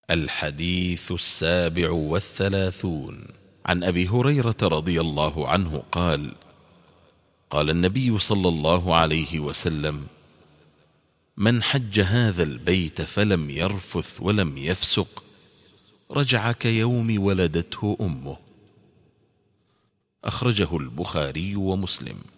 الحديث 37 عن أبي هريرة رضي الله عنه قال: قال النبي صلى الله عليه وسلم: من حج هذا البيت فلم يرفث ولم يفسق رجع كيوم ولدته أمه. أخرجه البخاري ومسلم.